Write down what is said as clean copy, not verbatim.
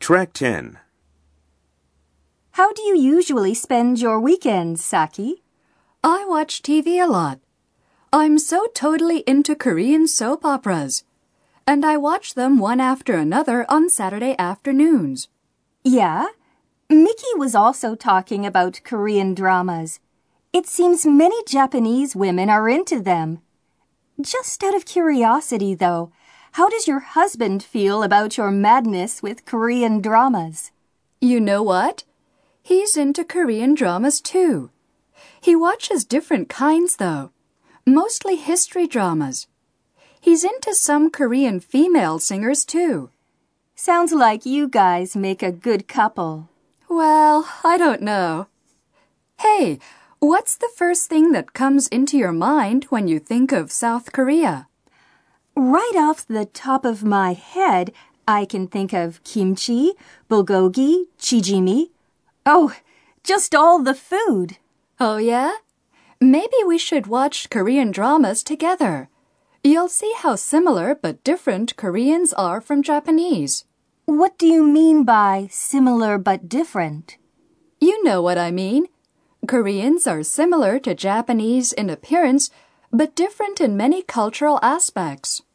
Track 10. How do you usually spend your weekends, Saki? I watch TV a lot. I'm so totally into Korean soap operas. And I watch them one after another on Saturday afternoons. Yeah? Mickey was also talking about Korean dramas. It seems many Japanese women are into them. Just out of curiosity, though, how does your husband feel about your madness with Korean dramas? You know what? He's into Korean dramas too. He watches different kinds, though. Mostly history dramas. He's into some Korean female singers, too. Sounds like you guys make a good couple. Well, I don't know. Hey, what's the first thing that comes into your mind when you think of South Korea? Right off the top of my head, I can think of kimchi, bulgogi, chijimi. Oh, just all the food. Oh, yeah? Maybe we should watch Korean dramas together. You'll see how similar but different Koreans are from Japanese. What do you mean by similar but different? You know what I mean. Koreans are similar to Japanese in appearance, but different in many cultural aspects.